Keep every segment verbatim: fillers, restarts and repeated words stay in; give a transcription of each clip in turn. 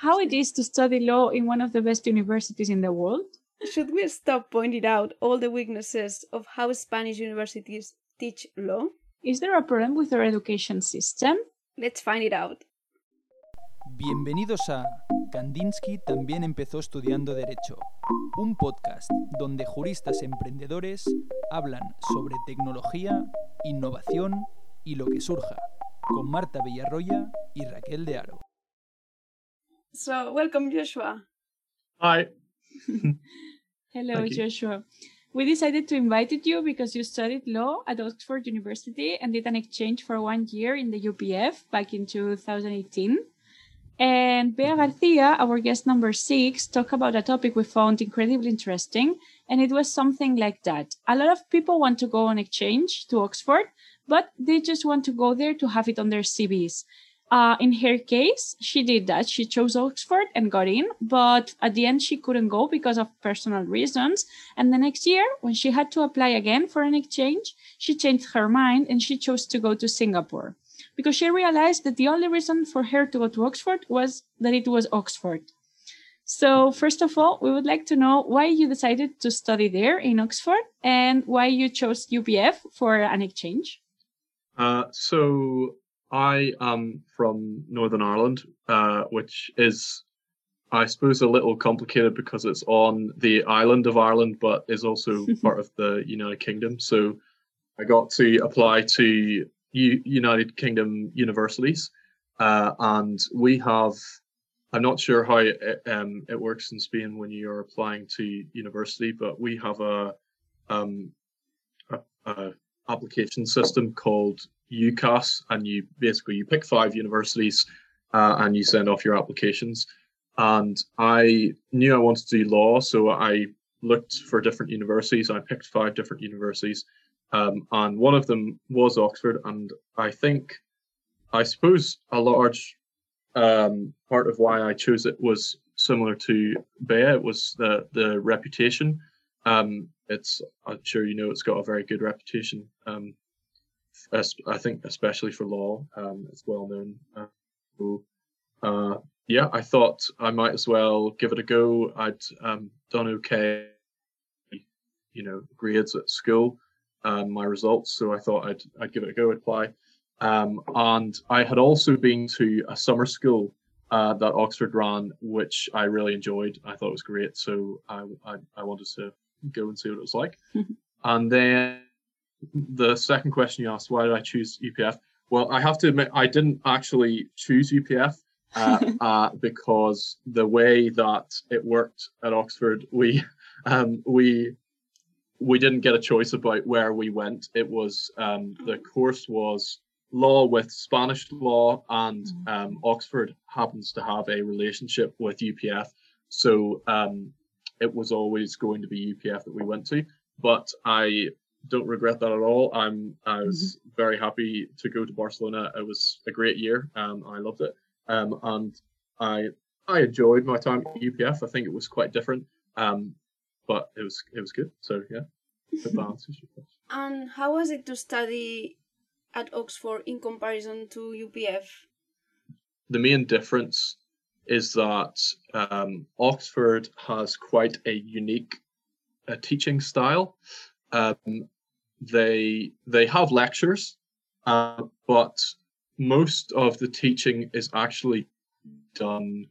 how it is to study law in one of the best universities in the world? Should we stop pointing out all the weaknesses of how Spanish universities teach law? Is there a problem with our education system? Let's find it out. Bienvenidos a Kandinsky también empezó estudiando Derecho, un podcast donde juristas emprendedores hablan sobre tecnología, innovación y lo que surja, con Marta Villarroya y Raquel de Aro. So, welcome, Joshua. Hi. Hello, Joshua. We decided to invite you because you studied law at Oxford University and did an exchange for one year in the U P F back in two thousand eighteen. And Bea Garcia, our guest number six, talked about a topic we found incredibly interesting, and it was something like that. A lot of people want to go on exchange to Oxford, but they just want to go there to have it on their C Vs. Uh, in her case, she did that. She chose Oxford and got in, but at the end, she couldn't go because of personal reasons. And the next year, when she had to apply again for an exchange, she changed her mind and she chose to go to Singapore because she realized that the only reason for her to go to Oxford was that it was Oxford. So first of all, we would like to know why you decided to study there in Oxford and why you chose U P F for an exchange. Uh, so I am from Northern Ireland, uh, which is, I suppose, a little complicated because it's on the island of Ireland, but is also part of the United Kingdom. So I got to apply to U- United Kingdom universities, uh, and we have, I'm not sure how it, um, it works in Spain when you're applying to university, but we have a, um, a, a application system called UCAS, and you basically you pick five universities uh, and you send off your applications. And I knew I wanted to do law, so I looked for different universities. I picked five different universities, um, and one of them was Oxford. And I think, I suppose, a large um, part of why I chose it was similar to Bea. It was the the reputation. Um, it's I'm sure you know it's got a very good reputation. Um, I think especially for law, um, it's well known. Uh, so, uh, yeah, I thought I might as well give it a go. I'd um, done okay, you know, grades at school, um, my results. So I thought I'd I'd give it a go, apply. Um, and I had also been to a summer school uh, that Oxford ran, which I really enjoyed. I thought it was great. So I I, I wanted to go and see what it was like. And then the second question you asked, why did I choose U P F? Well, I have to admit, I didn't actually choose U P F uh, uh, because the way that it worked at Oxford, we um, we we didn't get a choice about where we went. It was um, the course was law with Spanish law, and um, Oxford happens to have a relationship with U P F, so um, it was always going to be U P F that we went to. But I don't regret that at all. I'm I was mm-hmm. very happy to go to Barcelona. It was a great year. Um, I loved it. Um, and I I enjoyed my time at U P F. I think it was quite different. Um, but it was it was good. So yeah, good balance. And how was it to study at Oxford in comparison to U P F? The main difference is that um, Oxford has quite a unique uh, teaching style. Um, they they have lectures, uh, but most of the teaching is actually done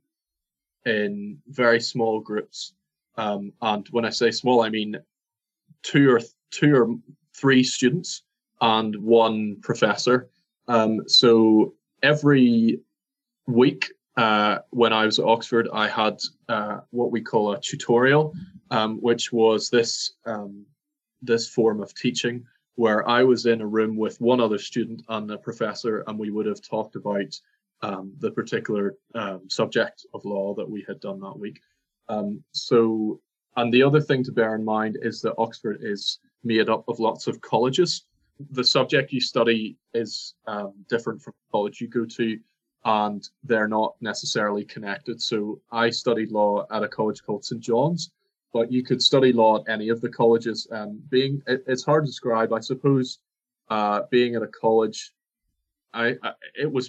in very small groups. Um, and when I say small, I mean two or th- two or three students and one professor. Um, so every week uh, when I was at Oxford, I had uh, what we call a tutorial, um, which was this. Um, this form of teaching where I was in a room with one other student and a professor, and we would have talked about um, the particular um, subject of law that we had done that week. Um, so, and the other thing to bear in mind is that Oxford is made up of lots of colleges. The subject you study is um, different from the college you go to, and they're not necessarily connected. So I studied law at a college called Saint John's, but you could study law at any of the colleges. Um, being, it, it's hard to describe, I suppose. Uh, being at a college, I, I it was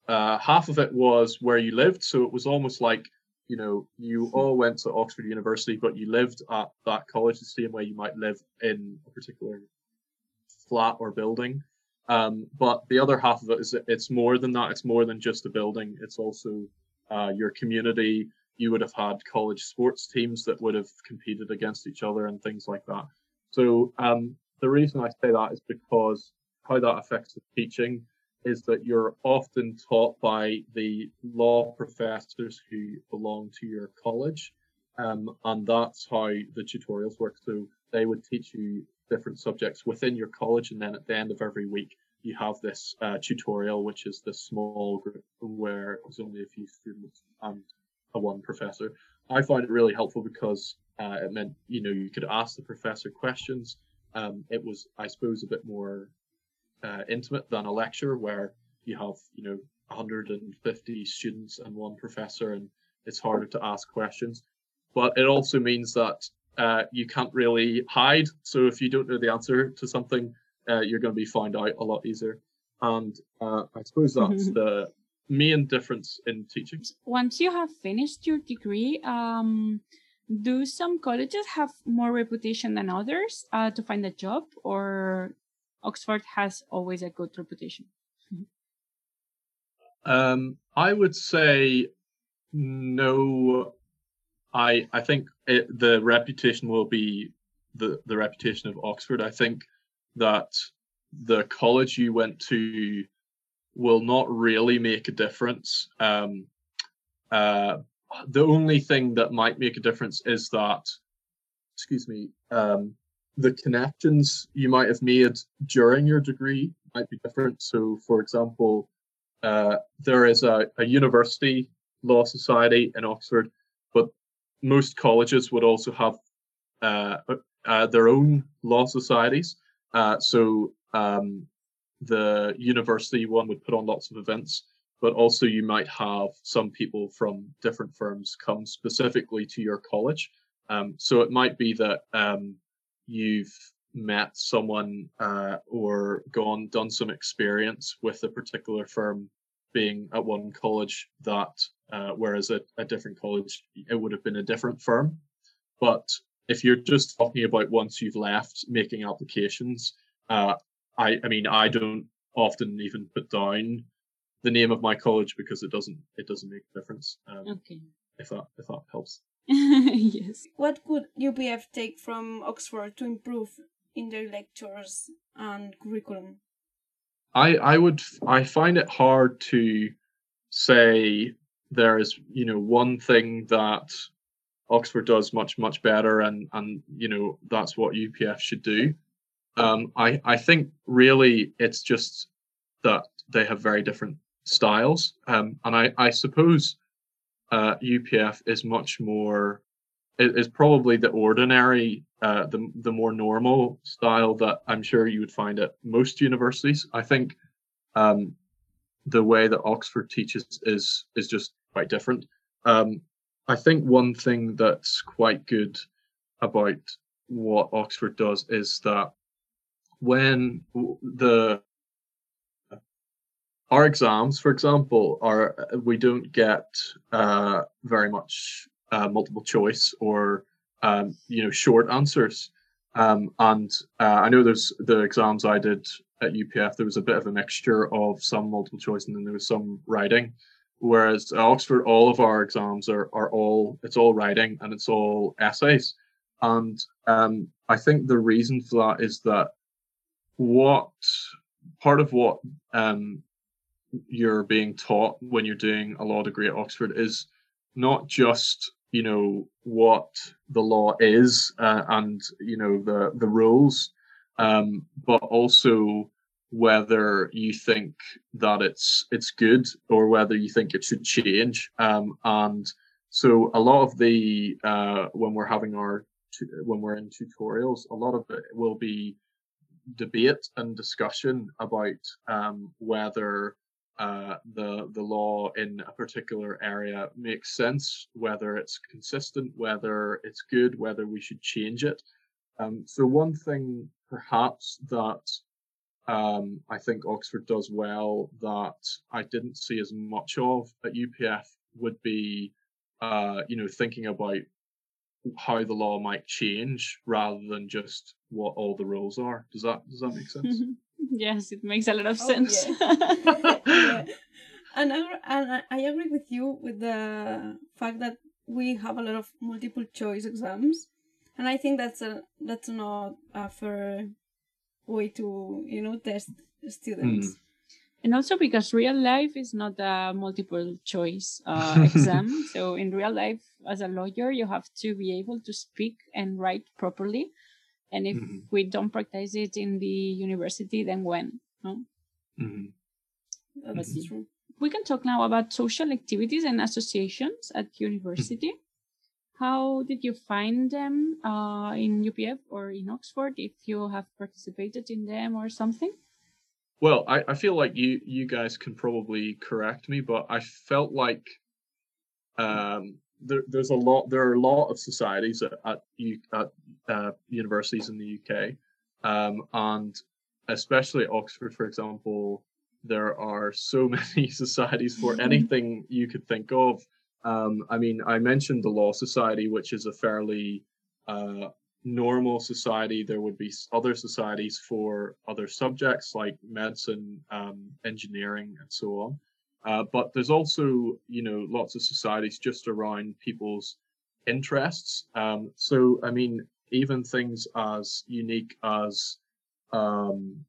uh, half of it was where you lived, so it was almost like, you know, you all went to Oxford University, but you lived at that college the same way you might live in a particular flat or building. Um, but the other half of it is that it's more than that. It's more than just a building. It's also uh, your community. You would have had college sports teams that would have competed against each other and things like that. So um, the reason I say that is because how that affects the teaching is that you're often taught by the law professors who belong to your college. Um, and that's how the tutorials work. So they would teach you different subjects within your college, and then at the end of every week, you have this uh, tutorial, which is this small group where there's only a few students and a one professor. I find it really helpful because uh, it meant, you know, you could ask the professor questions. Um, it was, I suppose, a bit more uh, intimate than a lecture where you have, you know, one hundred fifty students and one professor, and it's harder to ask questions. But it also means that uh, you can't really hide. So if you don't know the answer to something, uh, you're going to be found out a lot easier. And uh, I suppose that's the main difference in teaching. Once you have finished your degree, um, do some colleges have more reputation than others uh, to find a job, or Oxford has always a good reputation? Um, I would say no. I I think it, the reputation will be the the reputation of Oxford. I think that the college you went to will not really make a difference. Um, uh, the only thing that might make a difference is that, excuse me, um, the connections you might have made during your degree might be different. So, for example, uh, there is a, a university law society in Oxford, but most colleges would also have uh, uh, their own law societies. Uh, so um, the university one would put on lots of events, but also you might have some people from different firms come specifically to your college. Um, so it might be that um, you've met someone uh, or gone done some experience with a particular firm being at one college that uh, whereas at a different college it would have been a different firm. But if you're just talking about once you've left making applications, uh, I, I mean I don't often even put down the name of my college because it doesn't it doesn't make a difference. Um, Okay. If that if that helps. Yes. What could U P F take from Oxford to improve in their lectures and curriculum? I I would I find it hard to say there is, you know, one thing that Oxford does much much better, and and you know that's what U P F should do. Um, I I think really it's just that they have very different styles, um, and I I suppose uh, U P F is much more is probably the ordinary, uh, the the more normal style that I'm sure you would find at most universities. I think um, the way that Oxford teaches is is just quite different. Um, I think one thing that's quite good about what Oxford does is that when the our exams, for example, are we don't get uh, very much uh, multiple choice or um, you know short answers. Um, and uh, I know there's the exams I did at U P F. There was a bit of a mixture of some multiple choice and then there was some writing. Whereas at Oxford, all of our exams are are all it's all writing and it's all essays. And um, I think the reason for that is that what part of what um, you're being taught when you're doing a law degree at Oxford is not just you know what the law is uh, and you know the the rules, um, but also whether you think that it's it's good or whether you think it should change. Um, and so a lot of the uh, when we're having our when we're in tutorials, a lot of it will be debate and discussion about um, whether uh, the the law in a particular area makes sense, whether it's consistent, whether it's good, whether we should change it. Um, so one thing perhaps that um, I think Oxford does well that I didn't see as much of at U P F would be, uh, you know, thinking about how the law might change rather than just what all the rules are. Does that does that make sense? Yes, it makes a lot of Oh, sense. yeah. Yeah. And I, and I- I agree with you with the fact that we have a lot of multiple choice exams, and I think that's a that's not a fair way to, you know, test students. And also because real life is not a multiple choice uh, exam. So in real life, as a lawyer, you have to be able to speak and write properly. And if Mhm. we don't practice it in the university, then when? No? Mm-hmm. That's Mhm. true. We can talk now about social activities and associations at university. How did you find them uh, in U P F or in Oxford, if you have participated in them or something? Well, I, I feel like you you guys can probably correct me, but I felt like um, there, there's a lot there are a lot of societies at at, U, at uh, universities in the U K, um, and especially at Oxford, for example, there are so many societies for anything you could think of. Um, I mean, I mentioned the Law Society, which is a fairly uh, normal society. There would be s- other societies for other subjects like medicine, um, engineering, and so on. Uh, but there's also, you know, lots of societies just around people's interests. Um, so, I mean, even things as unique as, um,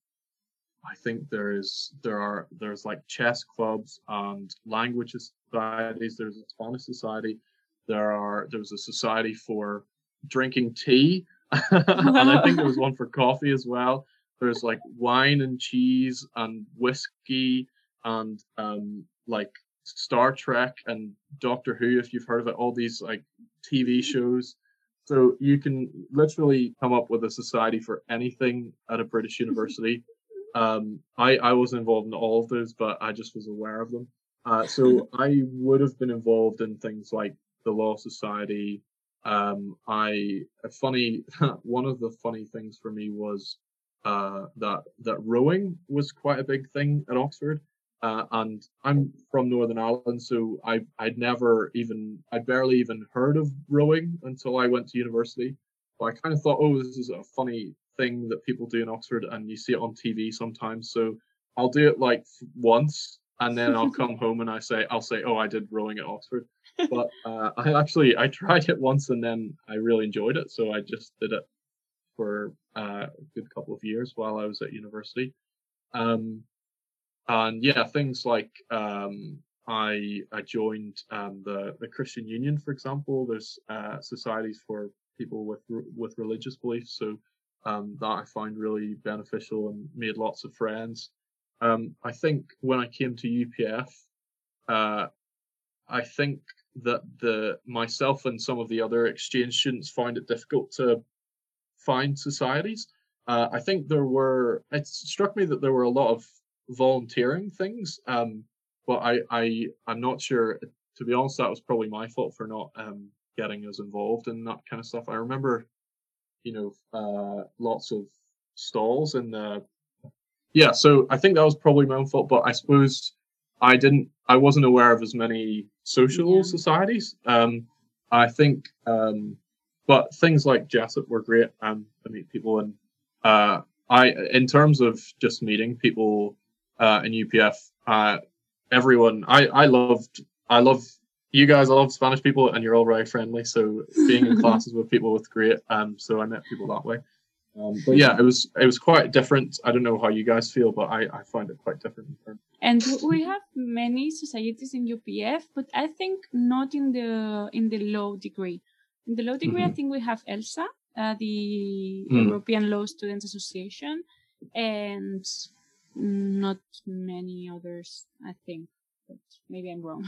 I think there is, there are, there's like chess clubs and language societies. There's a Spanish society. There are, there's a society for drinking tea, and I think there was one for coffee as well. There's like wine and cheese and whiskey and um like Star Trek and Doctor Who, if you've heard of it, all these like T V shows. So you can literally come up with a society for anything at a British university. Um, I I wasn't involved in all of those, but I just was aware of them. Uh, so I would have been involved in things like the Law Society. Um, I a funny one of the funny things for me was uh, that that rowing was quite a big thing at Oxford. Uh, and I'm from Northern Ireland, so I I'd never even I barely even heard of rowing until I went to university. But I kind of thought, oh, this is a funny thing that people do in Oxford, and you see it on T V sometimes. So I'll do it like once, and then I'll come home and I say I'll say, oh, I did rowing at Oxford. But uh, I actually I tried it once, and then I really enjoyed it, so I just did it for uh, a good couple of years while I was at university. Um, and yeah, things like um, I I joined um, the the Christian Union, for example. There's uh, societies for people with with religious beliefs, so um, that I find really beneficial and made lots of friends. Um, I think when I came to U P F, uh, I think that the myself and some of the other exchange students found it difficult to find societies. Uh, I think there were. It struck me that there were a lot of volunteering things, um, but I, I, I'm not sure. To be honest, that was probably my fault for not um, getting us involved in that kind of stuff. I remember, you know, uh, lots of stalls in the. Yeah, so I think that was probably my own fault, but I suppose I didn't. I wasn't aware of as many social Yeah. societies. Um, I think. Um, but things like Jessup were great. Um, to meet people, and uh, I, in terms of just meeting people uh, in U P F, uh, everyone, I, I loved, I love you guys. I love Spanish people, and you're all very friendly. So being in classes with people was great. Um, so I met people that way. Um, but yeah, it was it was quite different. I don't know how you guys feel, but I, I find it quite different. In terms And we have many societies in U P F, but I think not in the in the law degree. In the law degree, I Mhm. think we have ELSA, uh, the Mm. European Law Students Association, and not many others, I think. But maybe I'm wrong.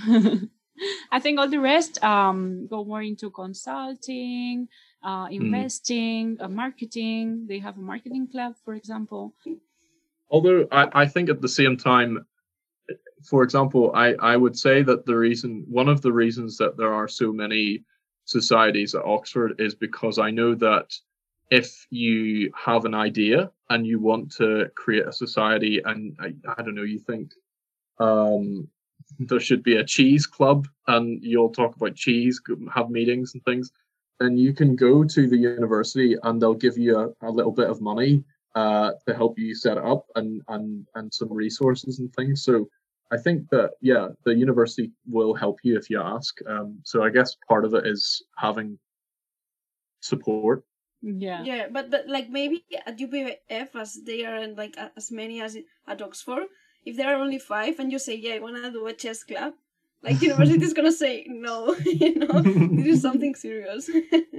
I think all the rest um, go more into consulting, uh, investing, uh, marketing. They have a marketing club, for example. Although I, I think at the same time, for example, I, I would say that the reason, one of the reasons that there are so many societies at Oxford is because I know that if you have an idea and you want to create a society, and I, I don't know, you think um, there should be a cheese club, and you'll talk about cheese, have meetings and things, then you can go to the university and they'll give you a, a little bit of money uh, to help you set it up, and, and, and some resources and things. So I think that, yeah, the university will help you if you ask. Um, so I guess part of it is having support. Yeah. Yeah, but, but like maybe at U P F, as they are like as many as at Oxford, if there are only five and you say, yeah, I want to do a chess club, like the university is going to say, no, you know, this is something serious.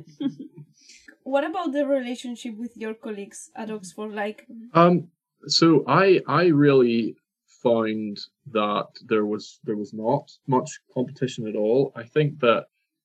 What about the relationship with your colleagues at Oxford? Like, um, so I I really found that there was there was not much competition at all. I think that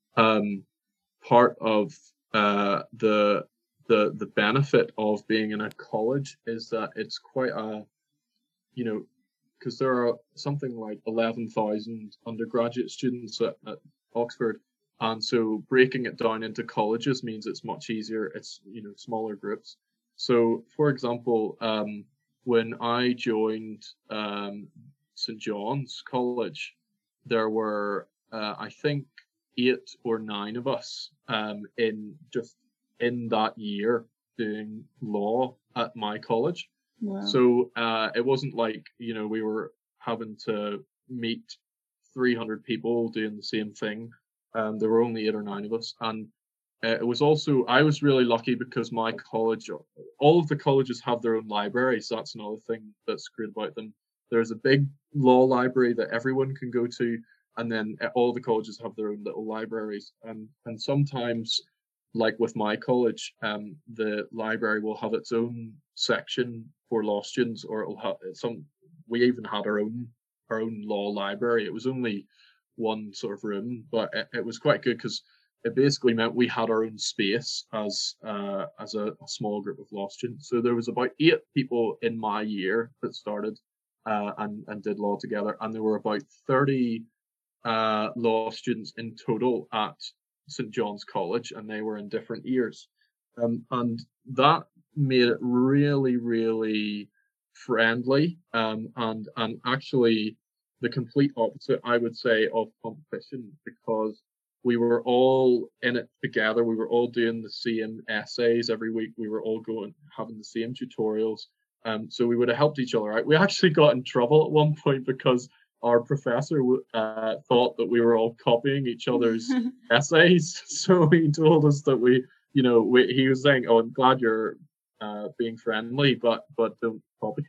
um, part of uh, the the the benefit of being in a college is that it's quite a, you know, because there are something like eleven thousand undergraduate students at, at Oxford, and so breaking it down into colleges means it's much easier. It's, you know, smaller groups. So, for example, um, when I joined um, Saint John's College, there were uh, I think eight or nine of us um, in just in that year doing law at my college. Wow. So uh, it wasn't like, you know, we were having to meet three hundred people doing the same thing. Um, there were only eight or nine of us. And uh, it was also, I was really lucky because my college, all of the colleges have their own libraries. That's another thing that's great about them. There's a big law library that everyone can go to. And then all the colleges have their own little libraries. And, and sometimes, like with my college, um, the library will have its own section for law students, or it'll have some. We even had our own our own law library. It was only one sort of room, but it, it was quite good because it basically meant we had our own space as uh, as a, a small group of law students. So there was about eight people in my year that started uh, and and did law together, and there were about thirty uh, law students in total at Saint John's College, and they were in different years. Um, and that made it really, really friendly, um, and and actually the complete opposite, I would say, of competition, because we were all in it together. We were all doing the same essays every week. We were all going having the same tutorials. Um, so we would have helped each other out. We actually got in trouble at one point because our professor uh, thought that we were all copying each other's essays. So he told us that we, you know, we, he was saying, "Oh, I'm glad you're uh, being friendly, but but don't copy."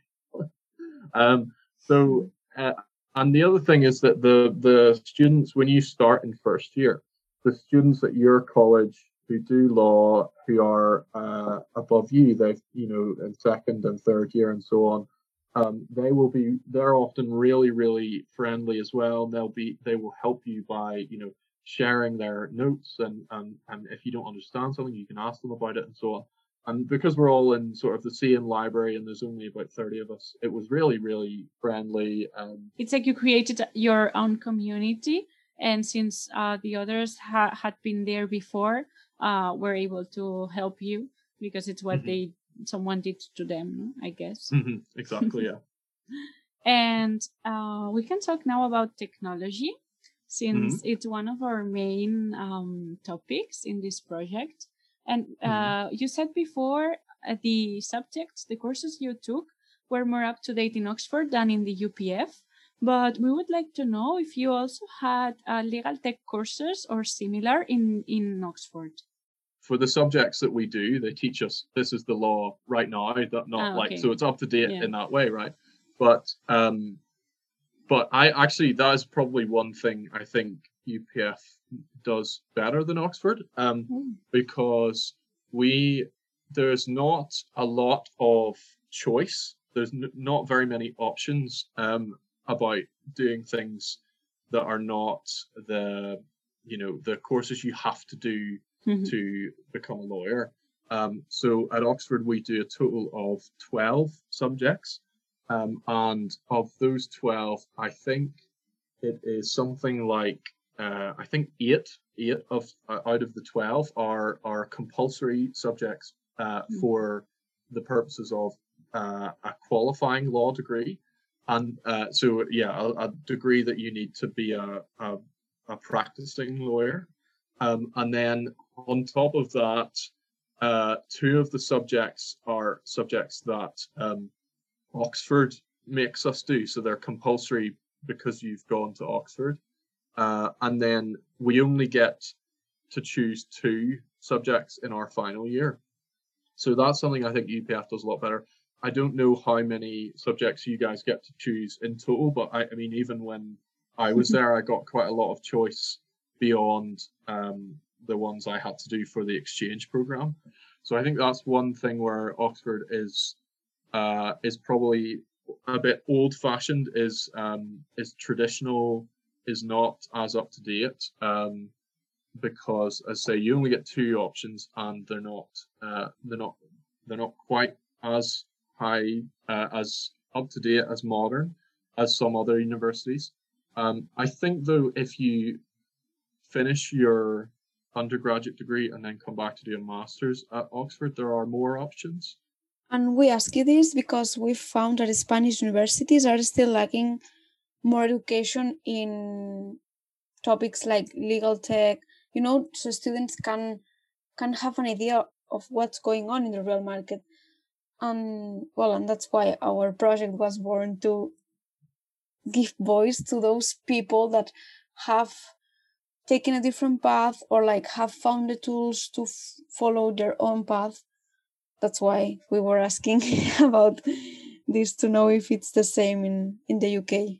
um, so, uh, and the other thing is that the the students, when you start in first year, the students at your college who do law, who are uh, above you, they've, you know, in second and third year and so on. Um, they will be, they're often really, really friendly as well. They'll be, they will help you by, you know, sharing their notes, and, and, and if you don't understand something, you can ask them about it and so on. And because we're all in sort of the same library and there's only about thirty of us, it was really, really friendly. Um, it's like you created your own community. And since uh, the others ha- had been there before, uh, were able to help you because it's what mm-hmm. they someone did to them, I guess. Mm-hmm. Exactly, yeah. And uh, we can talk now about technology, since mm-hmm. it's one of our main um, topics in this project. And uh, mm-hmm. you said before uh, the subjects, the courses you took were more up to date in Oxford than in the U P F. But we would like to know if you also had uh, legal tech courses or similar in, in Oxford. For the subjects that we do, they teach us this is the law right now, that not ah, okay. like, so it's up to date yeah. in that way, right? But um, but I actually, that is probably one thing I think U P F does better than Oxford, um, mm. because we, there's not a lot of choice. There's n- not very many options um, about doing things that are not the, you know, the courses you have to do Mm-hmm. to become a lawyer. Um, so at Oxford, we do a total of twelve subjects. Um, and of those twelve, I think it is something like, uh, I think eight, eight of uh, out of the twelve are, are compulsory subjects uh, for the purposes of uh, a qualifying law degree. And uh, so, yeah, a, a degree that you need to be a, a, a practicing lawyer. Um, and then on top of that, uh, two of the subjects are subjects that um, Oxford makes us do. So they're compulsory because you've gone to Oxford. Uh, and then we only get to choose two subjects in our final year. So that's something I think U P F does a lot better. I don't know how many subjects you guys get to choose in total, but I, I mean, even when I was there, I got quite a lot of choice beyond um, the ones I had to do for the exchange program. So I think that's one thing where Oxford is uh, is probably a bit old-fashioned, is um, is traditional, is not as up to date. Um, because, as I say, you only get two options, and they're not uh, they're not they're not quite as high uh, as up to date as modern as some other universities. Um, I think though, if you finish your undergraduate degree and then come back to do a master's at Oxford, there are more options. And we ask you this because we found that Spanish universities are still lacking more education in topics like legal tech, you know, so students can can have an idea of what's going on in the real market. And well, and that's why our project was born, to give voice to those people that have taken a different path, or like have found the tools to f- follow their own path. That's why we were asking about this, to know if it's the same in, in the U K.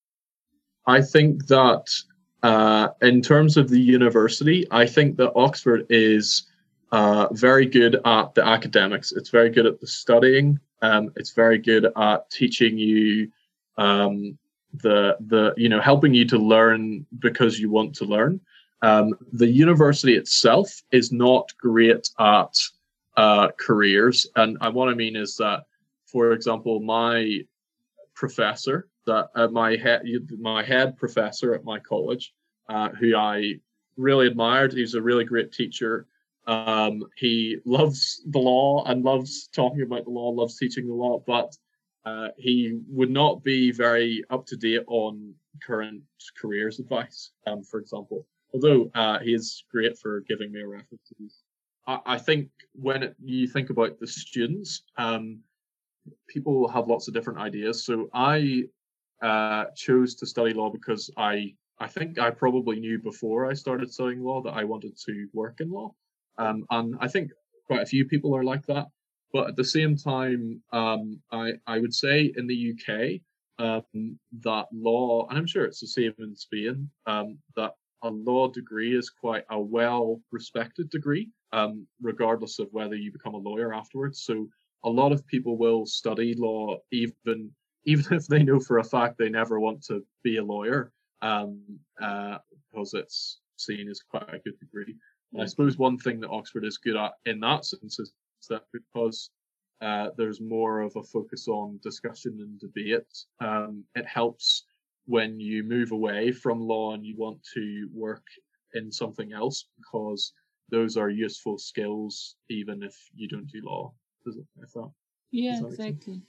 I think that uh, in terms of the university, I think that Oxford is uh, very good at the academics. It's very good at the studying. Um, it's very good at teaching you um, the the you know helping you to learn because you want to learn. Um, the university itself is not great at uh, careers, and, and what I mean is that, for example, my professor, that uh, my head my head professor at my college, uh, who I really admired. He's a really great teacher. Um, he loves the law and loves talking about the law, loves teaching the law, but uh, he would not be very up to date on current careers advice, um, for example. Although uh, he is great for giving me a reference. I, I think when it, you think about the students, um, people have lots of different ideas. So I uh, chose to study law because I I think I probably knew before I started studying law that I wanted to work in law. Um, and I think quite a few people are like that. But at the same time, um, I, I would say in the U K, um, that law, and I'm sure it's the same in Spain, um, that a law degree is quite a well-respected degree, um, regardless of whether you become a lawyer afterwards. So a lot of people will study law even even if they know for a fact they never want to be a lawyer, um, uh, because it's seen as quite a good degree. And I suppose one thing that Oxford is good at in that sense is that because uh, there's more of a focus on discussion and debate, um, it helps when you move away from law and you want to work in something else, because those are useful skills even if you don't do law. Does it? I thought. Yeah, exactly.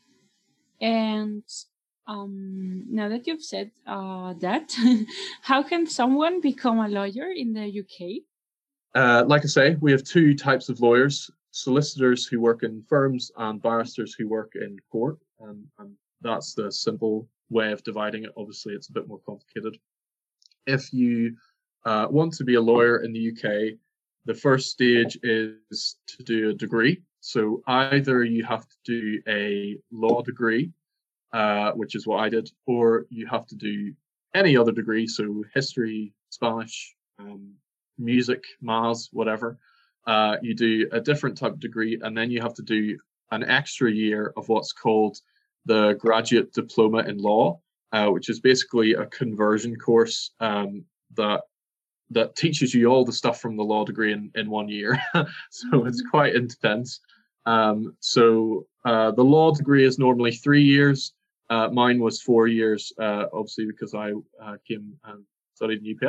And um, now that you've said uh, that, how can someone become a lawyer in the U K? Uh, like I say, we have two types of lawyers: solicitors who work in firms and barristers who work in court. Um, and that's the simple way of dividing it. Obviously, it's a bit more complicated. If you uh, want to be a lawyer in the U K, the first stage is to do a degree. So either you have to do a law degree, uh, which is what I did, or you have to do any other degree, so history, Spanish, um, music, maths, whatever. Uh, you do a different type of degree, and then you have to do an extra year of what's called the Graduate Diploma in Law, uh, which is basically a conversion course um, that that teaches you all the stuff from the law degree in, in one year. So mm-hmm. It's quite intense. Um, so uh, the law degree is normally three years. Uh, mine was four years, uh, obviously, because I uh, came and studied in U P F.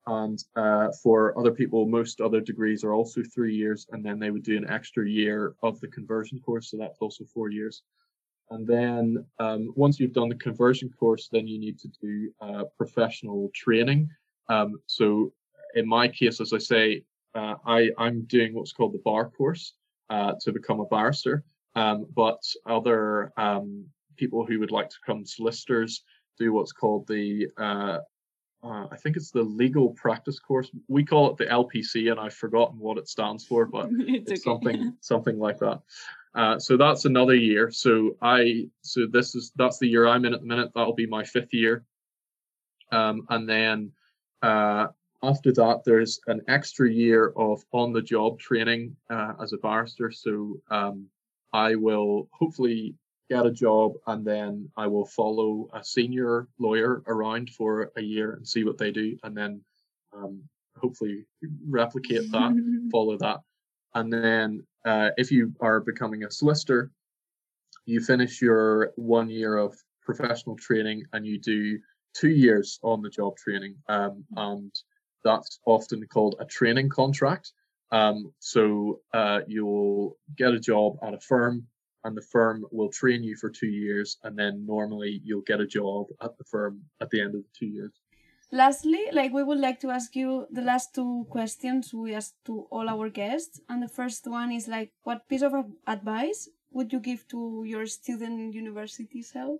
and uh, for other people, most other degrees are also three years, and then they would do an extra year of the conversion course, so that's also four years. And then um, once you've done the conversion course, then you need to do uh, professional training. Um, so in my case, as I say, uh, I, I'm doing what's called the bar course uh, to become a barrister. Um, but other um, people who would like to become solicitors do what's called the, uh, uh, I think it's the legal practice course. We call it the L P C, and I've forgotten what it stands for, but it's, it's okay. something something like that. Uh, so that's another year. So I, so this is, that's the year I'm in at the minute. That'll be my fifth year. Um, and then uh, after that, there's an extra year of on-the-job training uh, as a barrister. So um, I will hopefully get a job, and then I will follow a senior lawyer around for a year and see what they do, and then um, hopefully replicate that, follow that. And then uh, if you are becoming a solicitor, you finish your one year of professional training and you do two years on the job training. Um, and that's often called a training contract. Um, so uh, you'll get a job at a firm, and the firm will train you for two years. And then normally you'll get a job at the firm at the end of the two years. Lastly, like we would like to ask you the last two questions we ask to all our guests. And the first one is like, what piece of advice would you give to your student university self?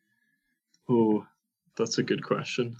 Oh, that's a good question.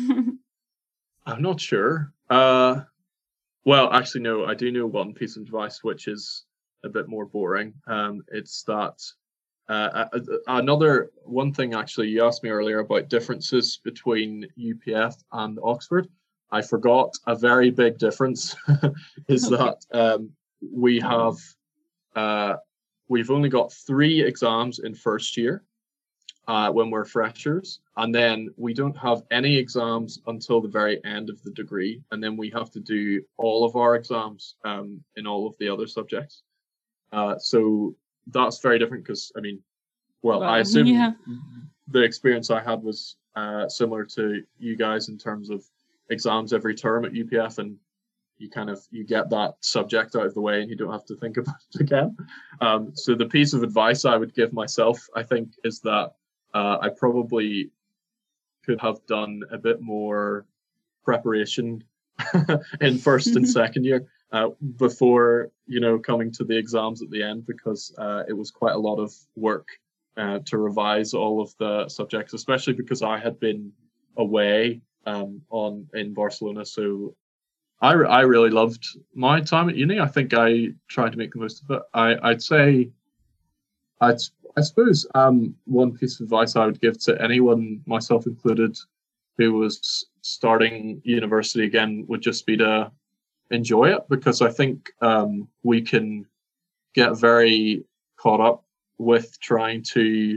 I'm not sure. Uh, well, actually, no, I do know one piece of advice, which is a bit more boring. Um, it's that Uh, another one thing, actually, you asked me earlier about differences between U P F and Oxford. I forgot a very big difference is okay. that um, we have uh, we've only got three exams in first year uh, when we're freshers, and then we don't have any exams until the very end of the degree, and then we have to do all of our exams um, in all of the other subjects. Uh, so that's very different because, I mean, well, well I assume yeah. the experience I had was uh, similar to you guys in terms of exams every term at U P F, and you kind of, you get that subject out of the way and you don't have to think about it again. Um, so the piece of advice I would give myself, I think, is that uh, I probably could have done a bit more preparation in first and second year. Uh, before, you know, coming to the exams at the end, because uh, it was quite a lot of work uh, to revise all of the subjects, especially because I had been away um, on in Barcelona. So I, I really loved my time at uni. I think I tried to make the most of it. I, I'd say, I'd, I suppose um, one piece of advice I would give to anyone, myself included, who was starting university again would just be to enjoy it, because I think um, we can get very caught up with trying to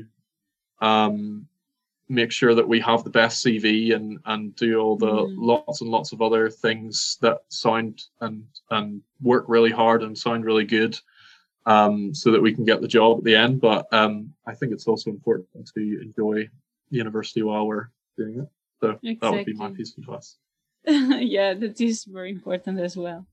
um, make sure that we have the best C V and, and do all the mm. lots and lots of other things that sound and, and work really hard and sound really good um, so that we can get the job at the end. But um, I think it's also important to enjoy university while we're doing it. So exactly. That would be my piece of advice. Yeah, that is very important as well.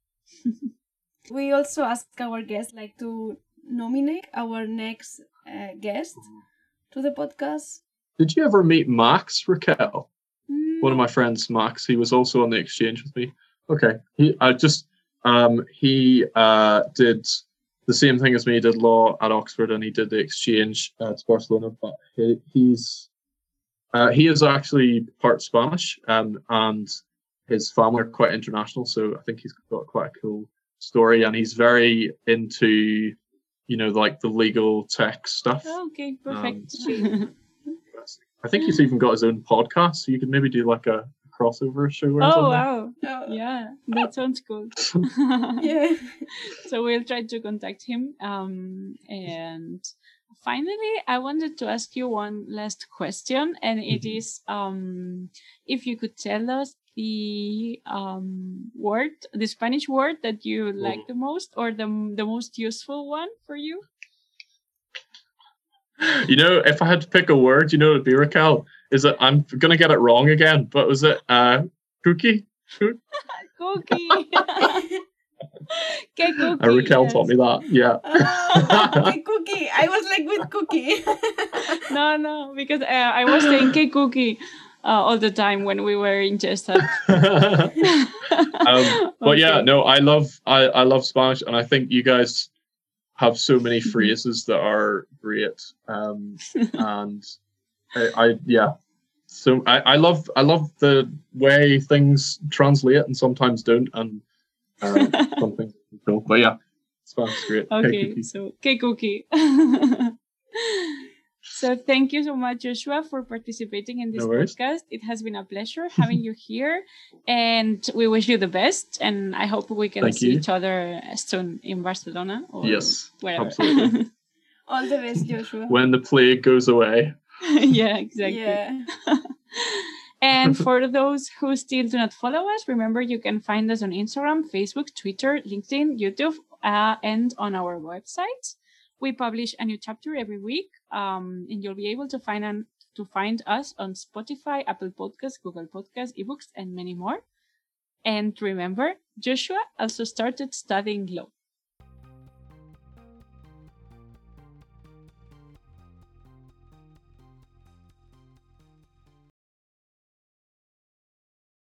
We also ask our guests like to nominate our next uh, guest to the podcast. Did you ever meet Max, Raquel? Mm. One of my friends, Max, he was also on the exchange with me. Okay, he I just um he uh did the same thing as me. He did law at Oxford and he did the exchange uh, to Barcelona. But he, he's uh, he is actually part Spanish, um, and his family are quite international. So I think he's got quite a cool story, and he's very into, you know, like the legal tech stuff. Oh, okay, perfect. Um, I think he's even got his own podcast, so you could maybe do like a crossover show or oh, something. Wow. Yeah, that sounds cool. Yeah. So we'll try to contact him. Um, and finally, I wanted to ask you one last question, and it mm-hmm. is um, if you could tell us the um, word, the Spanish word that you oh. like the most, or the the most useful one for you. You know, if I had to pick a word, you know, it'd be, Raquel, is it, I'm going to get it wrong again, but was it uh, cookie? Cookie. Que cookie. Uh, Raquel yes. taught me that. Yeah. Oh, okay, Cookie. I was like with Cookie. No, no, because uh, I was saying que cookie uh, all the time when we were in Jessup. um, but yeah, Okay. no, I love I, I love Spanish, and I think you guys have so many phrases that are great. Um, and I, I yeah, so I, I love I love the way things translate and sometimes don't, and uh, some things don't. But yeah, Spanish is great. Okay, so que cookie. So thank you so much, Joshua, for participating in this No worries. podcast. It has been a pleasure having you here, and we wish you the best. And I hope we can Thank see you. each other soon in Barcelona or Yes, wherever. absolutely. All the best, Joshua. When the plague goes away. Yeah, exactly. Yeah. And for those who still do not follow us, remember you can find us on Instagram, Facebook, Twitter, LinkedIn, YouTube, uh, and on our website. We publish a new chapter every week, um, and you'll be able to find an, to find us on Spotify, Apple Podcasts, Google Podcasts, eBooks, and many more. And remember, Joshua also started studying law.